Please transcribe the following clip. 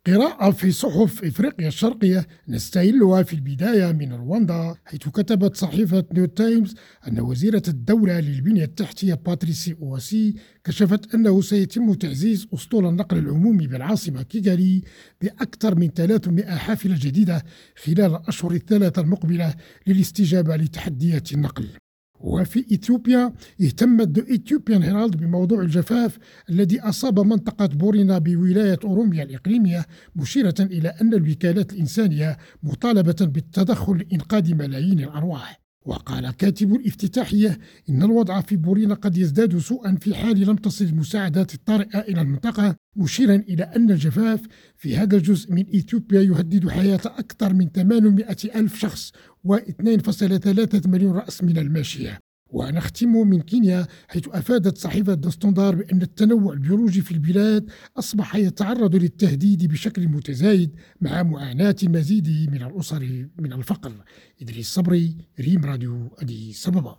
قراءة في صحف إفريقيا الشرقية نستهلها في البداية من رواندا، حيث كتبت صحيفة نيو تايمز أن وزيرة الدولة للبنية التحتية باتريسي أواسي كشفت أنه سيتم تعزيز أسطول النقل العمومي بالعاصمة كيغالي بأكثر من 300 حافلة جديدة خلال الأشهر الثلاثة المقبلة للاستجابة لتحديات النقل. وفي إثيوبيا اهتمت The Ethiopian Herald بموضوع الجفاف الذي أصاب منطقة بورينا بولاية أوروميا الإقليمية، مشيرة إلى أن الوكالات الإنسانية مطالبة بالتدخل لإنقاذ ملايين الأرواح. وقال كاتب الافتتاحية إن الوضع في بورينا قد يزداد سوءا في حال لم تصل المساعدات الطارئة إلى المنطقة، مشيرا إلى أن الجفاف في هذا الجزء من إثيوبيا يهدد حياة أكثر من 800 ألف شخص و2.3 مليون رأس من الماشية. ونختم من كينيا، حيث أفادت صحيفة دستوندار بأن التنوع البيولوجي في البلاد أصبح يتعرض للتهديد بشكل متزايد مع معاناة المزيد من الأسر من الفقر. إدريس صبري، ريم راديو أديس أبابا.